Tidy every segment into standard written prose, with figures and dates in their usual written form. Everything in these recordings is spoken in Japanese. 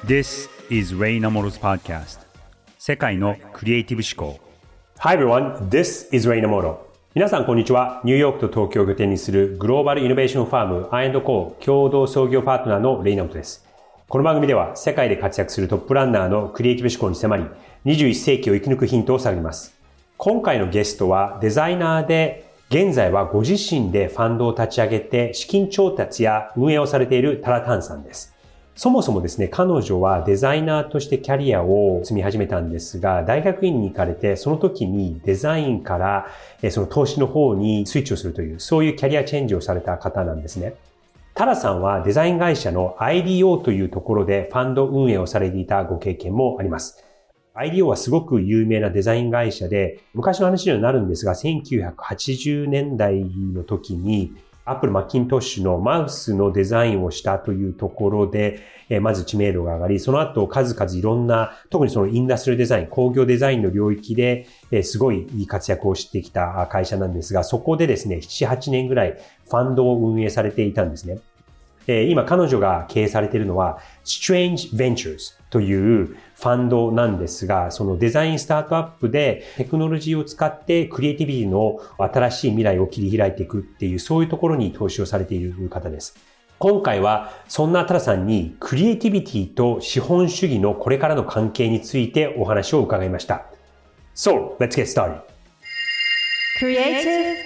This is Ray Namoro's podcast. 世界のクリエイティブ思考。 Hi everyone, this is Ray Namoro. 皆さんこんにちは。ニューヨークと東京を拠点にするグローバルイノベーションファーム I&Co 共同創業パートナーのレイナモトです。この番組では世界で活躍するトップランナーのクリエイティブ思考に迫り、21世紀を生き抜くヒントを探ります。今回のゲストはデザイナーで、現在はご自身でファンドを立ち上げて資金調達や運営をされているタラタンさんです。そもそもですね、彼女はデザイナーとしてキャリアを積み始めたんですが、大学院に行かれて、その時にデザインからその投資の方にスイッチをするという、そういうキャリアチェンジをされた方なんですね。タラさんはデザイン会社の IDO というところでファンド運営をされていたご経験もあります。IDO はすごく有名なデザイン会社で、昔の話にはなるんですが、1980年代の時に、アップルマッキントッシュのマウスのデザインをしたというところで、まず知名度が上がり、その後数々いろんな、特にそのインダストリールデザイン、工業デザインの領域で、すごいいい活躍をしてきた会社なんですが、そこでですね、7、8年ぐらいファンドを運営されていたんですね。今彼女が経営されているのは Strange Ventures というファンドなんですが、そのデザインスタートアップでテクノロジーを使ってクリエイティビティの新しい未来を切り開いていくっていう、そういうところに投資をされている方です。今回はそんなタラさんにクリエイティビティと資本主義のこれからの関係についてお話を伺いました。So, let's get started. Creative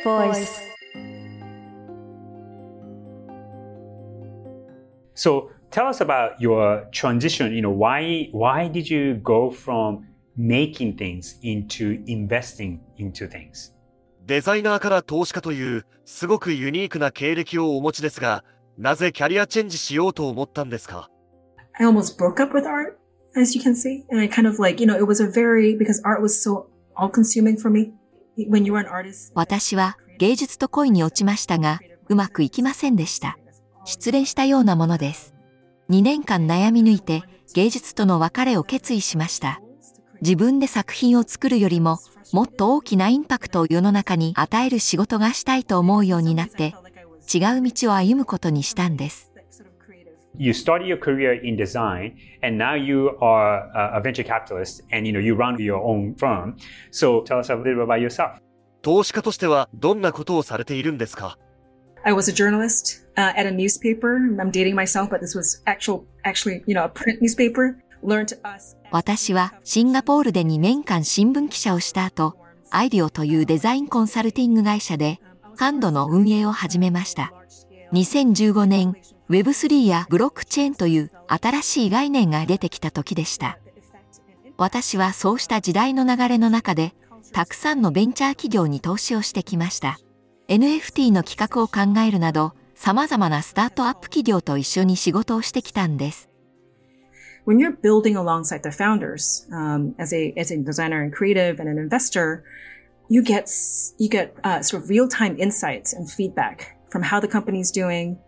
So tell us about your transition. Why did you go from making things into investing into things? デザイナーから投資家というすごくユニークな経歴をお持ちですが、なぜキャリアチェンジしようと思ったんですか？ I almost broke up with art, as you can see. And I kind of it was because art was so all-consuming for me. When you were an artist. 私は芸術と恋に落ちましたが、うまくいきませんでした。失恋したようなものです。2年間悩み抜いて芸術との別れを決意しました。自分で作品を作るよりももっと大きなインパクトを世の中に与える仕事がしたいと思うようになって違う道を歩むことにしたんです。 You started your career in design and now you are a venture capitalist and you run your own firm. So tell us a little bit about yourself. 投資家としてはどんなことをされているんですか？ I was a journalist at a newspaper. I'm dating myself, but this was actually, a print newspaper. Learned us. 私はシンガポールで2年間新聞記者をした後、IDEOというデザインコンサルティング会社でファンドの運営を始めました。2015年、Web3 やブロックチェーンという新しい概念が出てきた時でした。私はそうした時代の流れの中で、たくさんのベンチャー企業に投資をしてきました。NFT の企画を考えるなど、様々なスタートアップ企業と一緒に仕事をしてきたんです。 When you're building alongside the founders, as a designer and creative and an investor, you get sort of real-time insights and feedback from how the company's doing,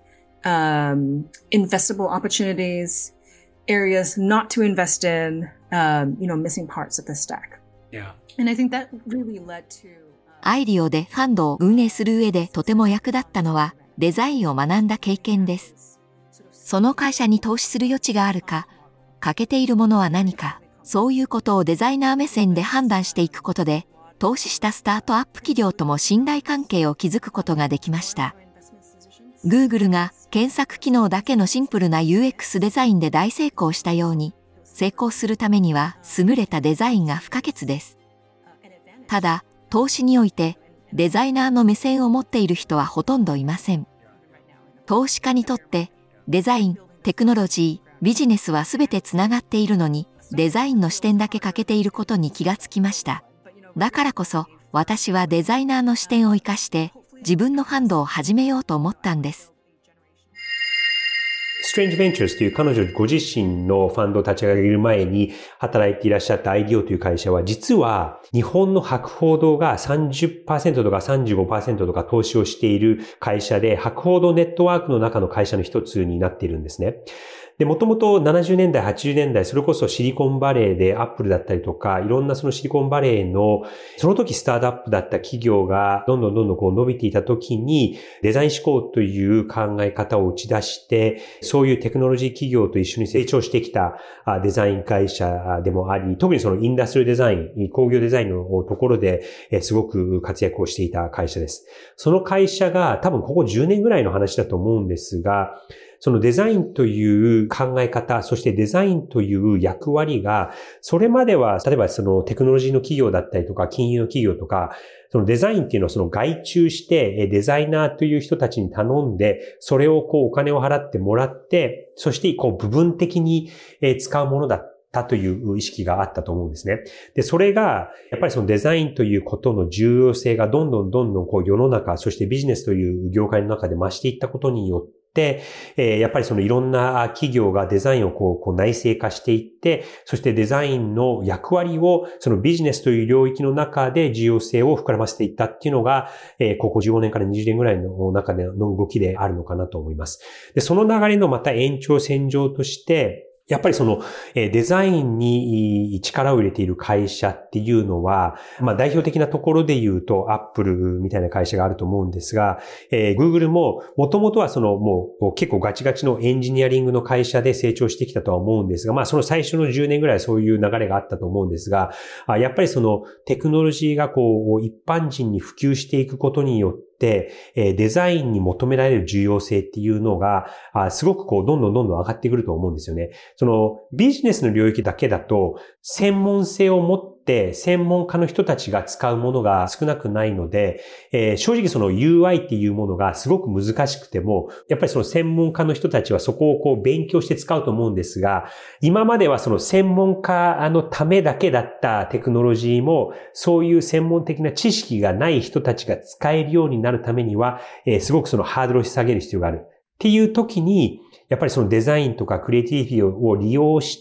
investable opportunities, areas not to invest in, missing parts of the stack. Yeah. And I think that really led to IDEOでファンドを運営する上でとても役立ったのはデザインを学んだ経験です。その会社に投資する余地があるか、欠けているものは何か、そういうことをデザイナー目線で判断していくことで、投資したスタートアップ企業とも信頼関係を築くことができました。Google が検索機能だけのシンプルな UX デザインで大成功したように、成功するためには優れたデザインが不可欠です。ただ、投資においてデザイナーの目線を持っている人はほとんどいません。投資家にとってデザイン、テクノロジー、ビジネスはすべてつながっているのにデザインの視点だけ欠けていることに気がつきました。だからこそ私はデザイナーの視点を生かして自分のファンドを始めようと思ったんです。 Strange Ventures という彼女ご自身のファンドを立ち上げる前に働いていらっしゃった IDEO という会社は実は日本の博報堂が 30% とか 35% とか投資をしている会社で博報堂ネットワークの中の会社の一つになっているんですね。 で、もともと70年代、80年代、それこそシリコンバレーでアップルだったりとか、いろんなそのシリコンバレーの、その時スタートアップだった企業がどんどんこう伸びていた時に、デザイン思考という考え方を打ち出して、そういうテクノロジー企業と一緒に成長してきたデザイン会社でもあり、特にそのインダストリールデザイン、工業デザインのところですごく活躍をしていた会社です。その会社が多分ここ10年ぐらいの話だと思うんですが、そのデザインという考え方、そしてデザインという役割が、それまでは、例えばそのテクノロジーの企業だったりとか、金融の企業とか、そのデザインっていうのをその外注して、デザイナーという人たちに頼んで、それをこうお金を払ってもらって、そしてこう部分的に使うものだったという意識があったと思うんですね。で、それが、やっぱりそのデザインということの重要性がどんどんこう世の中、そしてビジネスという業界の中で増していったことによって、やっぱりそのいろんな企業がデザインをこう内製化していって、そしてデザインの役割をそのビジネスという領域の中で重要性を膨らませていったっていうのが、ここ15年から20年ぐらいの中での動きであるのかなと思います。で、その流れのまた延長線上として、やっぱりそのデザインに力を入れている会社っていうのは、代表的なところで言うと Apple みたいな会社があると思うんですが、Google も元々はそのもう結構ガチガチのエンジニアリングの会社で成長してきたとは思うんですが、その最初の10年ぐらいそういう流れがあったと思うんですが、やっぱりそのテクノロジーがこう一般人に普及していくことによって、デザインに求められる重要性っていうのが、すごくこうどんどん上がってくると思うんですよね。そのビジネスの領域だけだと、専門性を持って専門家の人たちが使うものが少なくないので、正直その UI っていうものがすごく難しくても、やっぱりその専門家の人たちはそこをこう勉強して使うと思うんですが、今まではその専門家のためだけだったテクノロジーも、そういう専門的な知識がない人たちが使えるようになるためには、すごくそのハードルを下げる必要がある。っていう時に、やっぱりそのデザインとかクリエイティビティを利用して、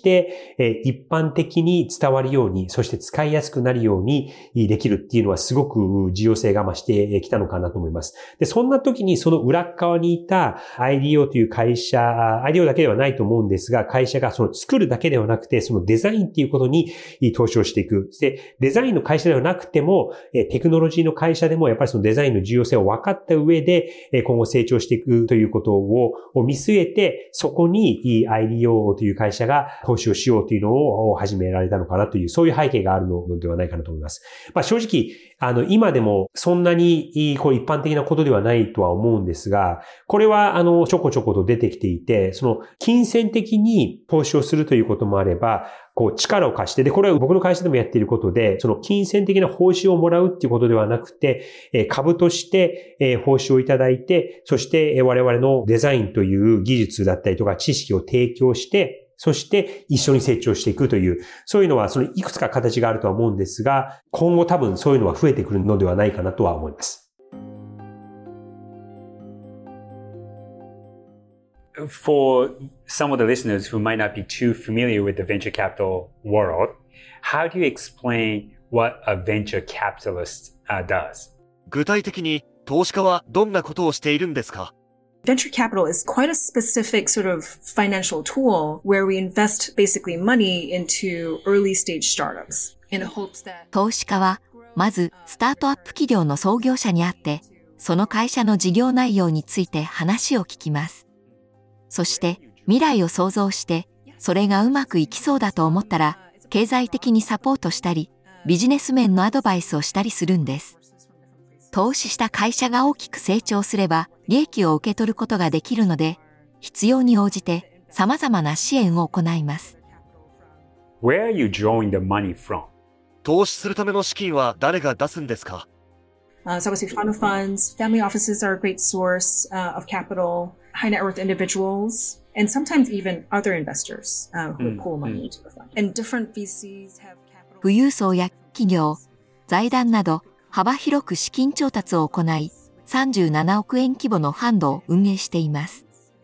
一般的に伝わるように、そして使いやすくなるようにできるっていうのはすごく重要性が増してきたのかなと思います。で、そんな時にその裏側にいた IDEO という会社、IDEO だけではないと思うんですが、会社がその作るだけではなくて、そのデザインっていうことに投資をしていく。で、デザインの会社ではなくても、テクノロジーの会社でもやっぱりそのデザインの重要性を分かった上で、今後成長していくということを見据えて、そこに IDEO という会社が投資をしようというのを始められたのかなという、そういう背景があるのではないかなと思います。正直、今でもそんなにこう一般的なことではないとは思うんですが、これはちょこちょこと出てきていて、その金銭的に投資をするということもあれば、こう力を貸して、で、これは僕の会社でもやっていることで、その金銭的な報酬をもらうっていうことではなくて、株として報酬をいただいて、そして我々のデザインという技術だったりとか知識を提供して、そして一緒に成長していくという、そういうのはそのいくつか形があるとは思うんですが、今後多分そういうのは増えてくるのではないかなとは思います。 For some of the listeners who might not be too familiar with the venture capital world, how do you explain what a venture capitalist does? 具体的に投資家はどんなことをしているんですか？ Venture capital is quite a specific sort of financial tool where we invest basically money into early stage startups in hopes that 投資家は、まずスタートアップ企業の創業者に会って、その会社の事業内容について話を聞きます。そして未来を想像して、それがうまくいきそうだと思ったら、経済的にサポートしたり、ビジネス面のアドバイスをしたりするんです。投資した会社が大きく成長すれば、利益を受け取ることができるので、必要に応じて様々な支援を行います。 Where are you drawing the money from? 投資するための資金は誰が出すんですか？ So obviously fund of funds, family offices are a great source of capital, high net worth individuals, and sometimes even other investors who pull money into the fund. And different VCs have capital. 富裕層や企業、財団など幅広く資金調達を行い、37億円規模のファンドを運営しています。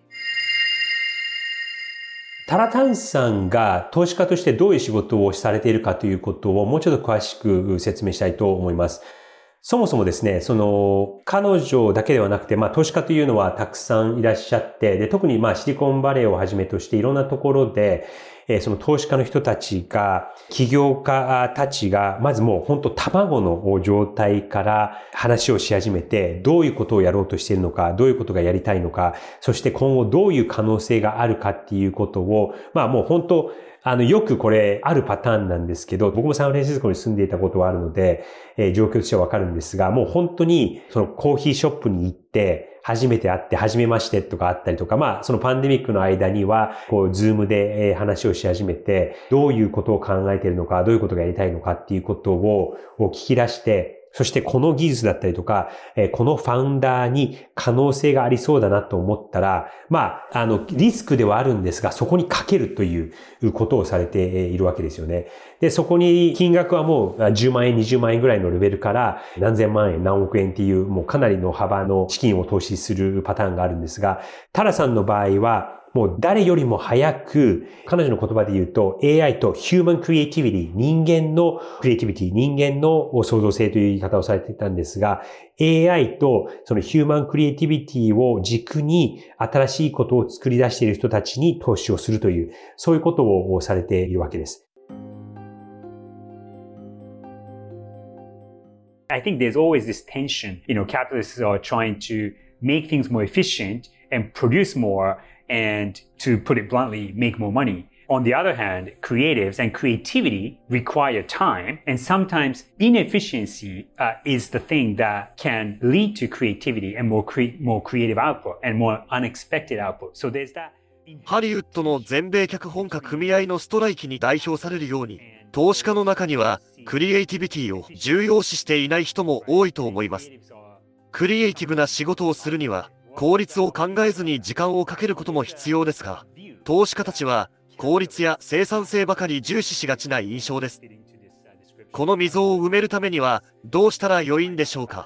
タラタンさんが投資家としてどういう仕事をされているかということをもうちょっと詳しく説明したいと思います。 そもそもですね、彼女だけではなくて、投資家というのはたくさんいらっしゃって、で、特にシリコンバレーをはじめとしていろんなところで、その投資家の人たちが、起業家たちが、まずもう本当卵の状態から話をし始めて、どういうことをやろうとしているのか、どういうことがやりたいのか、そして今後どういう可能性があるかっていうことを、もう本当、よくこれあるパターンなんですけど、僕もサンフランシスコに住んでいたことはあるので、状況としてはわかるんですが、もう本当にそのコーヒーショップに行って、初めて会って、初めましてとかあったりとか、そのパンデミックの間には、ズームで話をし始めて、どういうことを考えているのか、どういうことがやりたいのかっていうことを聞き出して、そしてこの技術だったりとか、このファウンダーに可能性がありそうだなと思ったら、リスクではあるんですが、そこにかけるということをされているわけですよね。で、そこに金額はもう10万円、20万円ぐらいのレベルから何千万円、何億円っていうもうかなりの幅の資金を投資するパターンがあるんですが、タラさんの場合は、もう誰よりも早く、彼女の言葉で言うと AI と Human Creativity、人間のクリエイティビティ、人間の創造性という言い方をされていたんですが、AI とその Human Creativity を軸に新しいことを作り出している人たちに投資をするという、そういうことをされているわけです。 I think there's always this tension. Capitalists are trying to make things more efficient and produce more.And to put it bluntly, make more money. On the other hand, creatives and creativity require time, and sometimes inefficiency is the thing that can lead to creativity and more creative output and more unexpected output. So there's that. ハリウッドの全米脚本家組合のストライキに代表されるように、投資家の中にはクリエイティビティを重要視していない人も多いと思います。クリエイティブな仕事をするには、効率を考えずに時間をかけることも必要ですが、投資家たちは効率や生産性ばかり重視しがちな印象です。この溝を埋めるためにはどうしたら良いんでしょうか？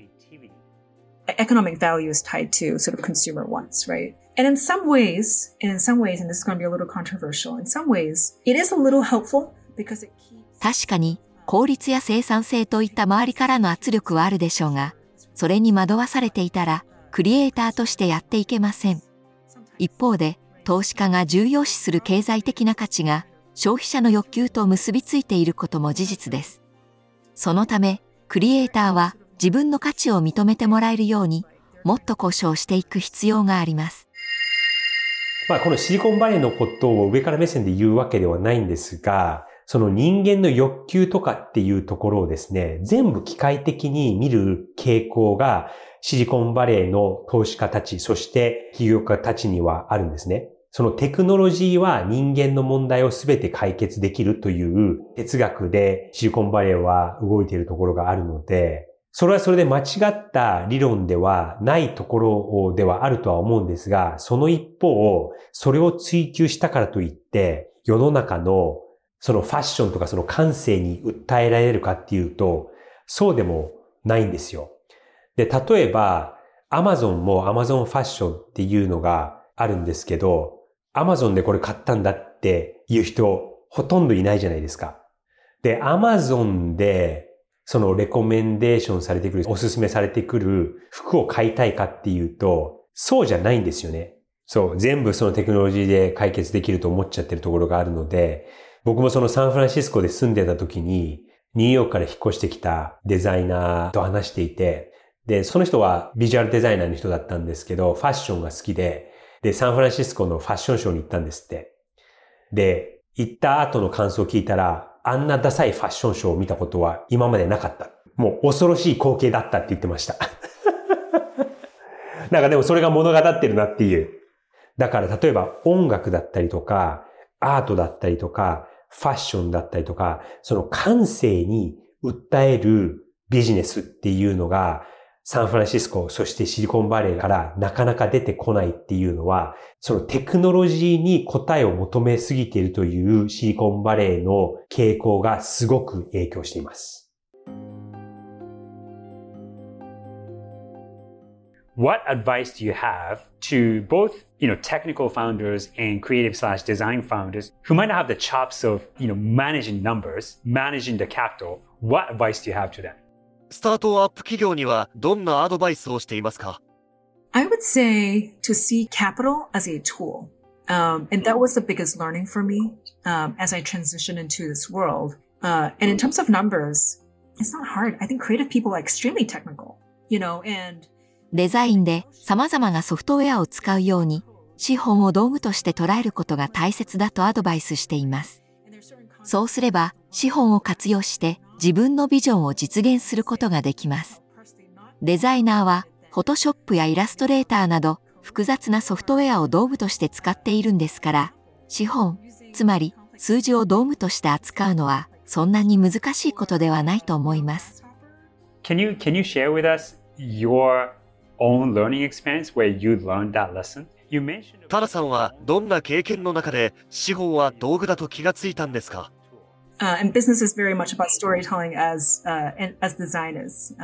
Economic value is tied to sort of consumer wants, right? And in some ways, and this is going to be a little controversial, in some ways, it is a little helpful because it keeps... 確かに効率や生産性といった周りからの圧力はあるでしょうが、それに惑わされていたら、クリエイターとしてやっていけません。一方で、投資家が重要視する経済的な価値が消費者の欲求と結びついていることも事実です。そのため、クリエイターは自分の価値を認めてもらえるように、もっと交渉していく必要があります。 このシリコンバレーのことを上から目線で言うわけではないんですが、その人間の欲求とかっていうところをですね、全部機械的に見る傾向がシリコンバレーの投資家たち、そして企業家たちにはあるんですね。そのテクノロジーは人間の問題をすべて解決できるという哲学でシリコンバレーは動いているところがあるので、それはそれで間違った理論ではないところではあるとは思うんですが、その一方、それを追求したからといって、世の中のそのファッションとかその感性に訴えられるかっていうと、そうでもないんですよ。で、例えば、Amazon も Amazon ファッションっていうのがあるんですけど、Amazon でこれ買ったんだっていう人、ほとんどいないじゃないですか。で、Amazon で、そのレコメンデーションされてくる、おすすめされてくる服を買いたいかっていうと、そうじゃないんですよね。そう、全部そのテクノロジーで解決できると思っちゃってるところがあるので、僕もそのサンフランシスコで住んでた時に、ニューヨークから引っ越してきたデザイナーと話していて、で、その人はビジュアルデザイナーの人だったんですけど、ファッションが好きで、サンフランシスコのファッションショーに行ったんですって。で、行った後の感想を聞いたら、あんなダサいファッションショーを見たことは今までなかった。もう恐ろしい光景だったって言ってました。なんかでもそれが物語ってるなっていう。だから例えば音楽だったりとか、アートだったりとか、ファッションだったりとか、その感性に訴えるビジネスっていうのが、サンフランシスコ、そしてシリコンバレーからなかなか出てこないっていうのは、そのテクノロジーに答えを求めすぎているというシリコンバレーの傾向がすごく影響しています。 What advice do you have to both, technical founders and creative/design founders who might not have the chops of, managing numbers, managing the capital? What advice do you have to them? スタートアップ企業にはどんなアドバイスをしていますか？ I would say to see capital as a tool. And that was the biggest learning for me as I transitioned into this world. And in terms of numbers, it's not hard. I think creative people are extremely technical, and デザインで様々なソフトウェアを使うように、資本を道具として捉えることが大切だとアドバイスしています。そうすれば、資本を活用して自分のビジョンを実現することができます。デザイナーは、フォトショップやイラストレーターなど、複雑なソフトウェアを道具として使っているんですから、資本、つまり数字を道具として扱うのは、そんなに難しいことではないと思います。 Can you share with us your own learning experience where you learned that lesson? You mentioned タラさんはどんな経験の中で資本は道具だと気がついたんですか？ and business is very much about storytelling as designers.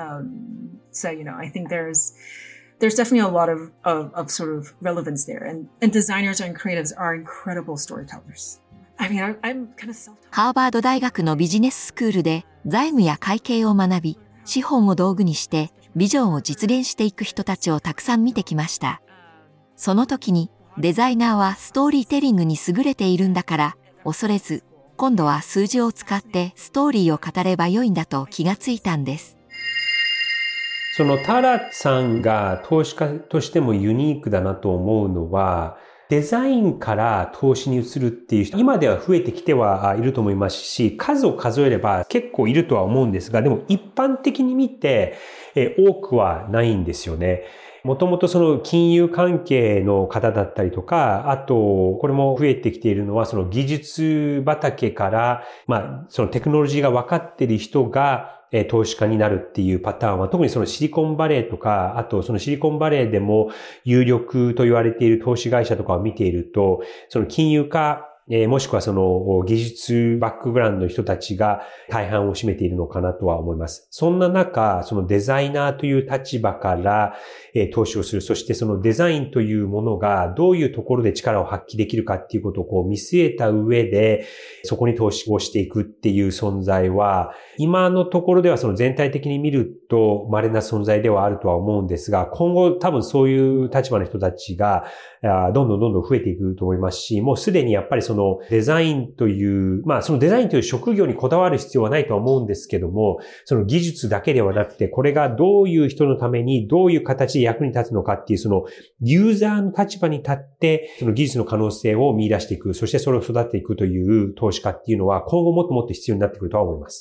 So, I think there's definitely a lot of sort of relevance there. And designers and creatives are incredible storytellers. I mean, I'm kind of self-taught. ハーバード大学のビジネススクールで財務や会計を学び、資本を道具にしてビジョンを実現していく人たちをたくさん見てきました。その時にデザイナーはストーリーテリングに優れているんだから恐れず、今度は数字を使ってストーリーを語ればよいんだと気がついたんです。 そのタラさんが投資家としてもユニークだなと思うのは、デザインから投資に移るっていう人、今では増えてきてはいると思いますし、数を数えれば結構いるとは思うんですが、でも一般的に見て、多くはないんですよね。もともとその金融関係の方だったりとか、あと、これも増えてきているのは、その技術畑から、そのテクノロジーが分かっている人が、投資家になるっていうパターンは、特にそのシリコンバレーとか、あとそのシリコンバレーでも有力と言われている投資会社とかを見ていると、その金融家、もしくはその技術バックグラウンドの人たちが大半を占めているのかなとは思います。そんな中、そのデザイナーという立場から投資をする。そしてそのデザインというものがどういうところで力を発揮できるかっていうことを見据えた上で、そこに投資をしていくっていう存在は、今のところではその全体的に見ると稀な存在ではあるとは思うんですが、今後多分そういう立場の人たちがどんどん増えていくと思いますし、もうすでにやっぱりそのデザインという、そのデザインという職業にこだわる必要はないとは思うんですけども、その技術だけではなくて、これがどういう人のためにどういう形で役に立つのかっていう、そのユーザーの立場に立って、その技術の可能性を見出していく、そしてそれを育てていくという投資家っていうのは、今後もっともっと必要になってくるとは思います。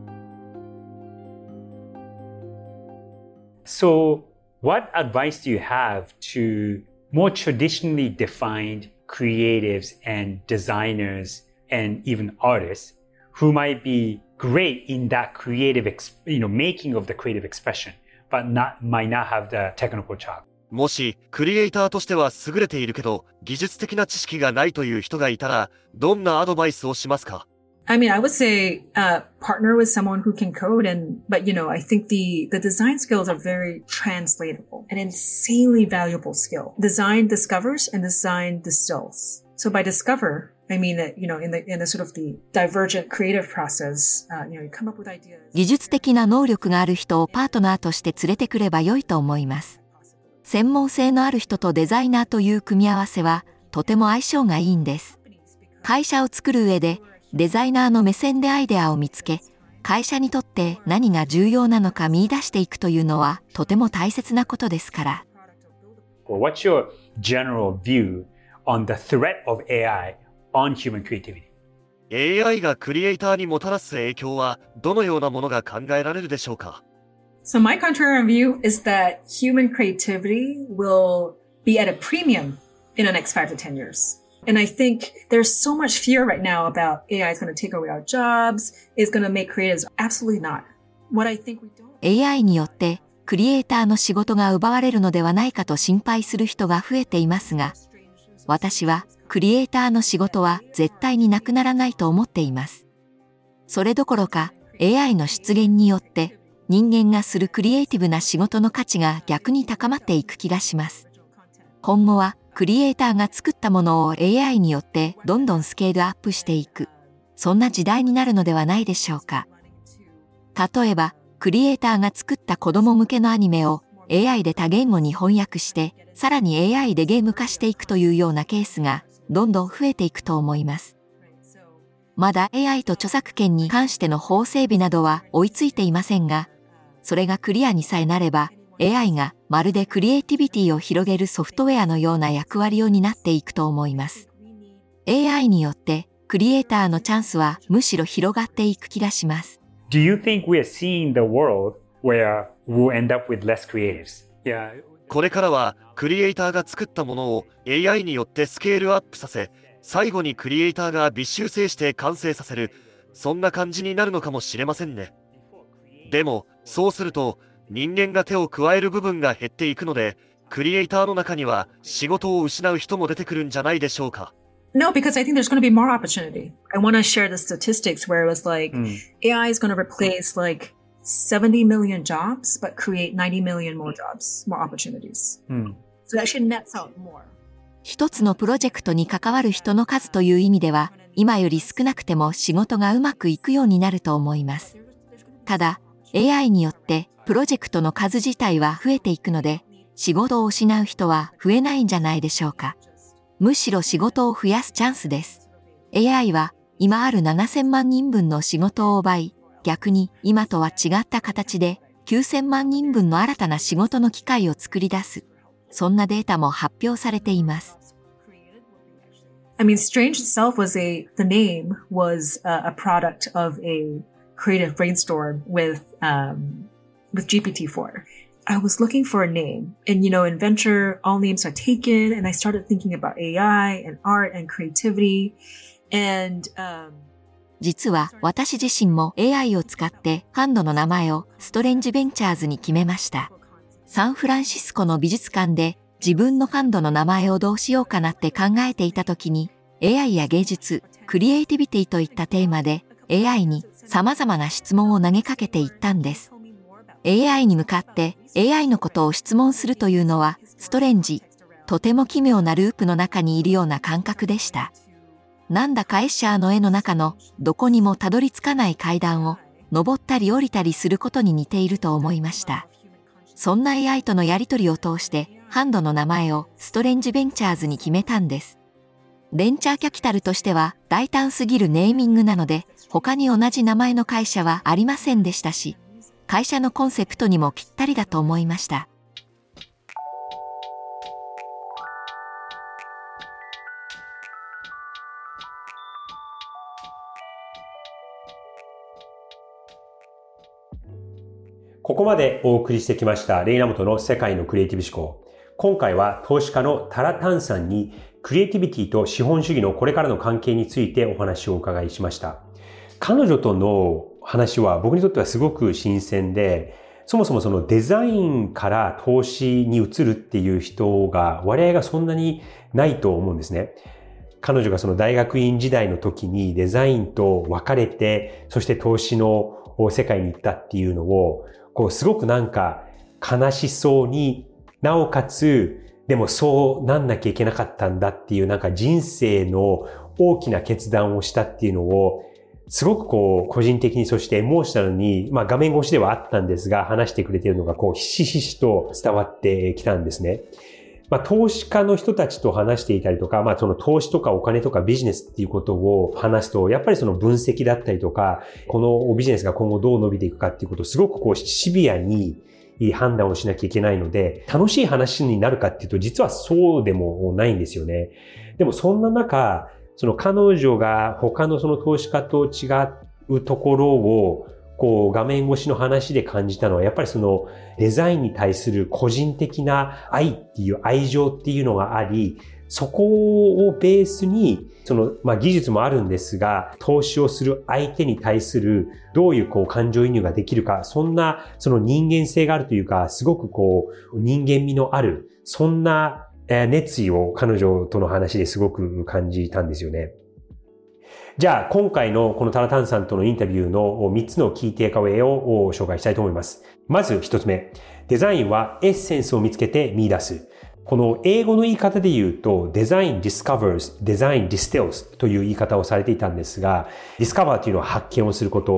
So, what advice do you have to more traditionally defined creatives and designers and even artists who might be great in that creative, making of the creative expression, but might not have the technical chop? もし、クリエイターとしては優れているけど、技術的な知識がないという人がいたら、どんなアドバイスをしますか？ I mean, I would say, partner with someone who can code but I think the design skills are very translatable, an insanely valuable skill. Design discovers and design distills. So by discover, I mean that, in the sort of the divergent creative process, you come up with ideas. 技術的な能力がある人をパートナーとして連れてくれば良いと思います。専門性のある人とデザイナーという組み合わせはとても相性がいいんです。会社を作る上でデザイナーの目線でアイデアを見つけ、会社にとって何が重要なのか見出していくというのはとても大切なことですから。 What's your general view on the threat of AI on human creativity? AI がクリエイターにもたらす影響はどのようなものが考えられるでしょうか？ So my contrarian view is that human creativity will be at a premium in the next 5 to 10 years.And I think there's so much fear right now about AI is going to take away our jobs, is going to make creatives. Absolutely not. What I think we don't. AI によってクリエイターの仕事が奪われるのではないかと心配する人が増えていますが、私はクリエイターの仕事は絶対になくならないと思っています。それどころか AI の出現によって人間がするクリエイティブな仕事の価値が逆に高まっていく気がします。今後はクリエイターが作ったものを AI によってどんどんスケールアップしていく、そんな時代になるのではないでしょうか。例えば、 クリエイターが作った子供向けのアニメを AI で多言語に翻訳して、さらに AI でゲーム化していくというようなケースがどんどん増えていくと思います。まだ AI と著作権に関しての法整備などは追いついていませんが、それがクリアにさえなれば、AI がまるでクリエイティビティを広げるソフトウェアのような役割を担っていくと思います。AI によってクリエイターのチャンスはむしろ広がっていく気がします。 Do you think we are seeing the world where we'll end up with less creatives? Yeah. これからはクリエイターが作ったものを AI によってスケールアップさせ、最後にクリエイターが微修正して完成させる、そんな感じになるのかもしれませんね。でも、そうすると、人間が手を加える部分が減っていくので、クリエイターの中には仕事を失う人も出てくるんじゃないでしょうか。 No, because I think there's going to be more opportunity. I want to share the statistics where it was like AI is going to replace like 70 million jobs, but create 90 million more jobs, more opportunities. So that actually nets out more. 一つのプロジェクトに関わる人の数という意味では、今より少なくても仕事がうまくいくようになると思います。ただ、AI によってプロジェクトの数自体は増えていくので、仕事を失う人は増えないんじゃないでしょうか。むしろ仕事を増やすチャンスです。AI は今ある7000万人分の仕事を奪い、逆に今とは違った形で9000万人分の新たな仕事の機会を作り出す。そんなデータも発表されています。 I mean, Strange itself the name was a product of a creative brainstorm with GPT-4. I was looking for a name and, in venture, all names are taken and I started thinking about AI and art and creativity and, 実は私自身も AI を使ってファンドの名前をストレンジベンチャーズに決めました。サンフランシスコの美術館で自分のファンドの名前をどうしようかなって考えていた時に AI や芸術、クリエイティビティといったテーマで AI に様々な質問を投げかけていったんです。AI に向かって AI のことを質問するというのはストレンジ、とても奇妙なループの中にいるような感覚でした。なんだかエッシャーの絵の中のどこにもたどり着かない階段を登ったり降りたりすることに似ていると思いました。そんな AI とのやりとりを通してファンドの名前をストレンジベンチャーズに決めたんです。ベンチャーキャピタルとしては大胆すぎるネーミングなので他に同じ名前の会社はありませんでしたし、会社のコンセプトにもぴったりだと思いました。 ここまでお送りしてきましたレイナモトの世界のクリエイティブ思考。今回は投資家のタラタンさんにクリエイティビティと資本主義のこれからの関係についてお話をお伺いしました。彼女との話は僕にとってはすごく新鮮で、そもそもそのデザインから投資に移るっていう人が割合がそんなにないと思うんですね。彼女がその大学院時代の時にデザインと別れて、そして投資の世界に行ったっていうのをすごくなんか悲しそうに、なおかつ、でもそうなんなきゃいけなかったんだっていうなんか人生の大きな決断をしたっていうのを、すごく個人的にそしてエモーショナルに、画面越しではあったんですが、話してくれているのがひしひしと伝わってきたんですね。投資家の人たちと話していたりとか、その投資とかお金とかビジネスっていうことを話すと、やっぱりその分析だったりとか、このビジネスが今後どう伸びていくかっていうことをすごくシビアに判断をしなきゃいけないので、楽しい話になるかっていうと、実はそうでもないんですよね。でもそんな中、その彼女が他のその投資家と違うところを、画面越しの話で感じたのは、やっぱりそのデザインに対する個人的な愛っていう愛情っていうのがあり、そこをベースに、その、技術もあるんですが、投資をする相手に対するどういう感情移入ができるか、そんなその人間性があるというか、すごく人間味のある、そんな熱意を彼女との話ですごく感じたんですよね。じゃあ、今回のこのタラタンさんとのインタビューの3つのキーテイクアウェイを紹介したいと思います。まず1つ目。デザインはエッセンスを見つけて見出す。この英語の言い方で言うと、デザイン discovers, デザイン distills という言い方をされていたんですが、discover というのは発見をすること。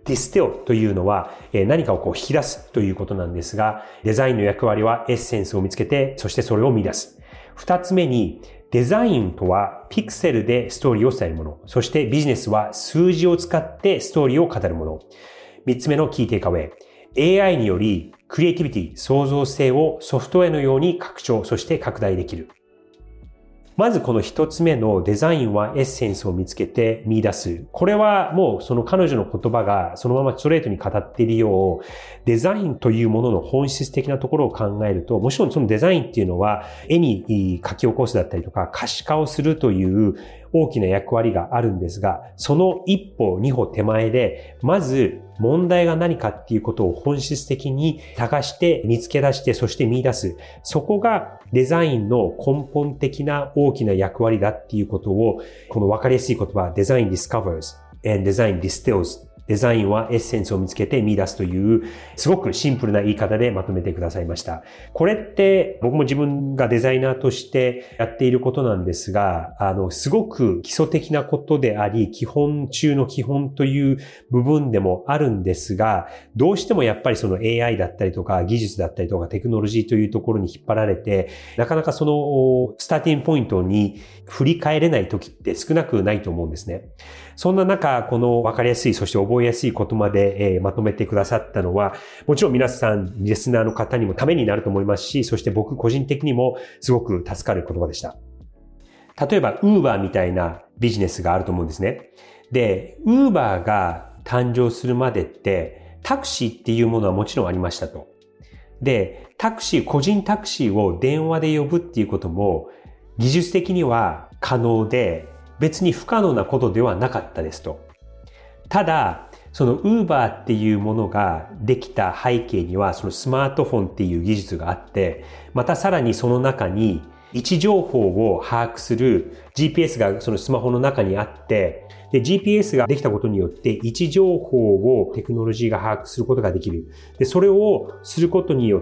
distill というのは何かを引き出すということなんですが、デザインの役割はエッセンスを見つけて、そしてそれを見出す。二つ目に、デザインとはピクセルでストーリーを伝えるもの。そしてビジネスは数字を使ってストーリーを語るもの。三つ目のキーテイクアウェイ。AI によりクリエイティビティ、創造性をソフトウェアのように拡張、そして拡大できる。まずこの一つ目のデザインはエッセンスを見つけて見出す。これはもうその彼女の言葉がそのままストレートに語っているよう、デザインというものの本質的なところを考えると、もちろんそのデザインっていうのは絵に書き起こすだったりとか可視化をするという大きな役割があるんですが、その一歩二歩手前で、まず問題が何かっていうことを本質的に探して見つけ出して、そして見出す。そこがデザインの根本的な大きな役割だっていうことを、この分かりやすい言葉、デザイン discovers and デザイン distills。デザインはエッセンスを見つけて見出すという、すごくシンプルな言い方でまとめてくださいました。これって僕も自分がデザイナーとしてやっていることなんですが、すごく基礎的なことであり、基本中の基本という部分でもあるんですが、どうしてもやっぱりその AI だったりとか技術だったりとかテクノロジーというところに引っ張られて、なかなかそのスターティングポイントに振り返れない時って少なくないと思うんですね。そんな中、この分かりやすい、そして覚えやすいことまで、まとめてくださったのは、もちろん皆さん、リスナーの方にもためになると思いますし、そして僕個人的にもすごく助かる言葉でした。例えば、Uber みたいなビジネスがあると思うんですね。で、Uber が誕生するまでって、タクシーっていうものはもちろんありましたと。で、個人タクシーを電話で呼ぶっていうことも、技術的には可能で、別に不可能なことではなかったですと。ただ、その Uber っていうものができた背景には、そのスマートフォンっていう技術があって、またさらにその中に位置情報を把握する GPS がそのスマホの中にあって、で、GPS ができたことによって位置情報をテクノロジーが把握することができる。で、それをすることによって、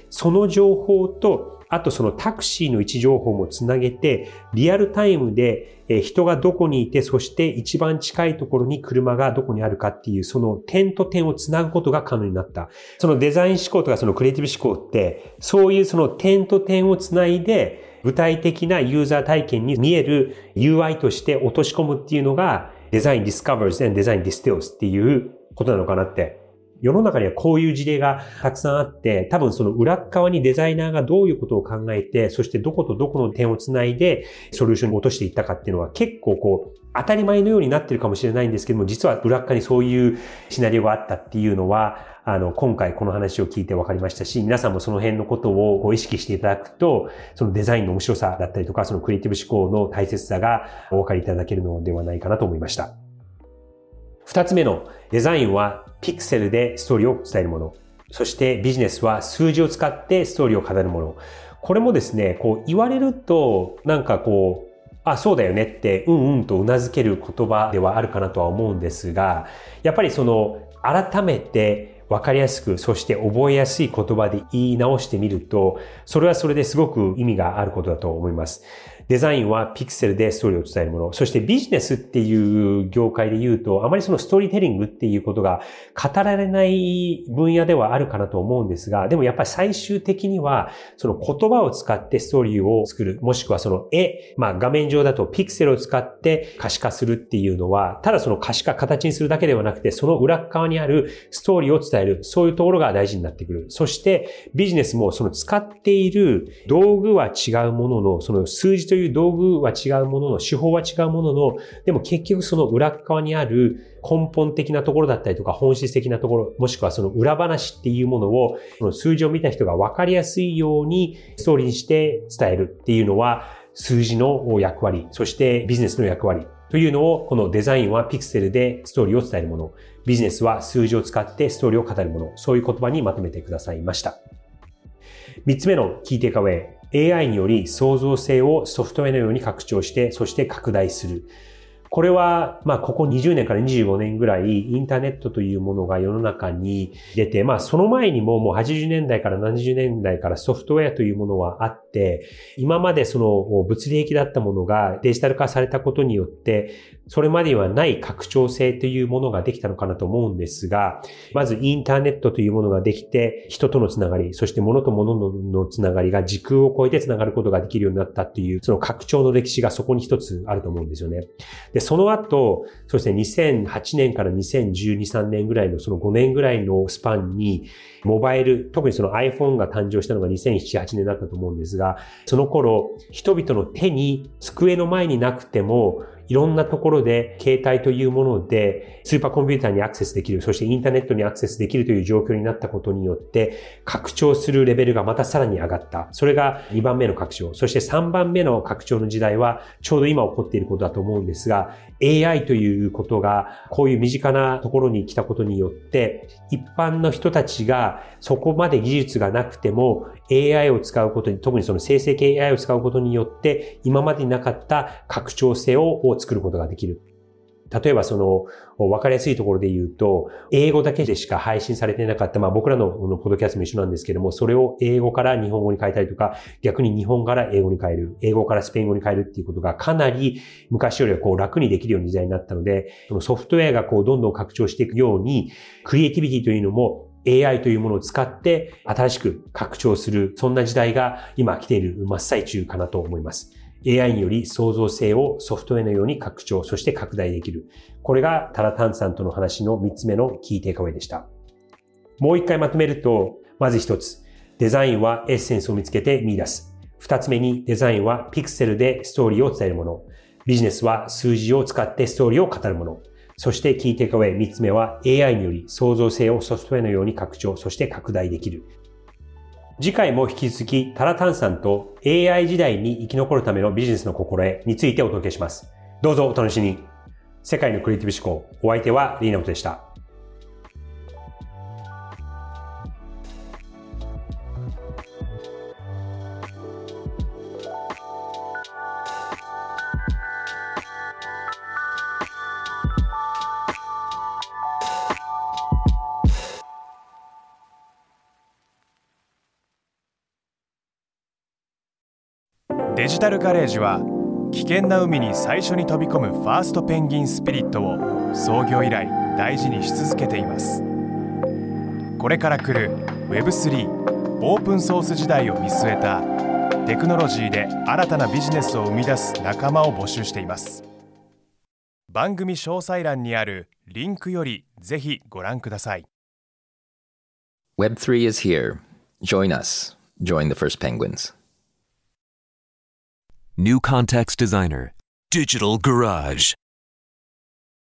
その情報とあとそのタクシーの位置情報もつなげて、リアルタイムで人がどこにいて、そして一番近いところに車がどこにあるかっていう、その点と点をつなぐことが可能になった。そのデザイン思考とかそのクリエイティブ思考って、そういうその点と点をつないで、具体的なユーザー体験に見える UI として落とし込むっていうのが、デザイン discovers and デザイン distills っていうことなのかなって。世の中にはこういう事例がたくさんあって、多分その裏側にデザイナーがどういうことを考えて、そしてどことどこの点をつないでソリューションに落としていったかっていうのは結構当たり前のようになってるかもしれないんですけども、実は裏側にそういうシナリオがあったっていうのは、今回この話を聞いて分かりましたし、皆さんもその辺のことを意識していただくと、そのデザインの面白さだったりとか、そのクリエイティブ思考の大切さがお分かりいただけるのではないかなと思いました。二つ目のデザインはピクセルでストーリーを伝えるもの。そしてビジネスは数字を使ってストーリーを語るもの。これもですね、言われるとあ、そうだよねってとうなずける言葉ではあるかなとは思うんですが、やっぱり改めて分かりやすく、そして覚えやすい言葉で言い直してみると、それはそれですごく意味があることだと思います。デザインはピクセルでストーリーを伝えるもの。そしてビジネスっていう業界で言うと、あまりそのストーリーテリングっていうことが語られない分野ではあるかなと思うんですが、でもやっぱり最終的には、その言葉を使ってストーリーを作る、もしくはその画面上だとピクセルを使って可視化するっていうのは、ただその可視化、形にするだけではなくて、その裏側にあるストーリーを伝える、そういうところが大事になってくる。そしてビジネスもその使っている道具は違うものの、その数字という道具は違うものの、手法は違うものの、でも結局その裏側にある根本的なところだったりとか本質的なところ、もしくはその裏話っていうものを、その数字を見た人が分かりやすいようにストーリーにして伝えるっていうのは、数字の役割、そしてビジネスの役割というのを、このデザインはピクセルでストーリーを伝えるもの、ビジネスは数字を使ってストーリーを語るもの、そういう言葉にまとめてくださいました。三つ目のキーテイクアウェイ。AI により創造性をソフトウェアのように拡張して、そして拡大する。これは、ここ20年から25年ぐらいインターネットというものが世の中に出て、その前にももう80年代から70年代からソフトウェアというものはあっ 、今までその物理的だったものがデジタル化されたことによって、それまでにはない拡張性というものができたのかなと思うんですが、まずインターネットというものができて、人とのつながり、そして物と物のつながりが時空を超えてつながることができるようになったっていう、その拡張の歴史がそこに一つあると思うんですよね。で、その後、そして2008年から2012、3年ぐらいのその5年ぐらいのスパンに、モバイル、特にその iPhone が誕生したのが2007、8年だったと思うんですが、その頃、人々の手に机の前になくても、いろんなところで携帯というものでスーパーコンピューターにアクセスできる、そしてインターネットにアクセスできるという状況になったことによって拡張するレベルがまたさらに上がった。それが2番目の拡張。そして3番目の拡張の時代はちょうど今起こっていることだと思うんですが、AI ということがこういう身近なところに来たことによって一般の人たちがそこまで技術がなくても AI を使うことに、特にその生成系 AI を使うことによって今までになかった拡張性を作ることができる。例えばその分かりやすいところで言うと、英語だけでしか配信されていなかった、僕らのポッドキャストも一緒なんですけども、それを英語から日本語に変えたりとか、逆に日本から英語に変える、英語からスペイン語に変えるっていうことがかなり昔よりは楽にできるような時代になったので、そのソフトウェアがどんどん拡張していくように、クリエイティビティというのもAI というものを使って新しく拡張する、そんな時代が今来ている真っ最中かなと思います。AI により創造性をソフトウェアのように拡張、そして拡大できる。これがタラタンさんとの話の3つ目のキーテイクアウェイでした。もう一回まとめると、まず一つ、デザインはエッセンスを見つけて見出す。二つ目に、デザインはピクセルでストーリーを伝えるもの。ビジネスは数字を使ってストーリーを語るもの。そしてキーテイクアウェイ3つ目は AI により創造性をソフトウェアのように拡張、そして拡大できる。次回も引き続きタラタンさんと AI 時代に生き残るためのビジネスの心得についてお届けします。どうぞお楽しみに。世界のクリエイティブ思考、お相手はリーナモトでした。 デジタルガレージは危険な海に最初に飛び込むファーストペンギンスピリットを創業以来大事にし続けています。これから来る Web3 オープンソース時代を見据えたテクノロジーで新たなビジネスを生み出す仲間を募集しています。番組詳細欄にあるリンクよりぜひご覧ください。 Web3 is here. Join us. Join the first penguins. New Context Designer, Digital Garage.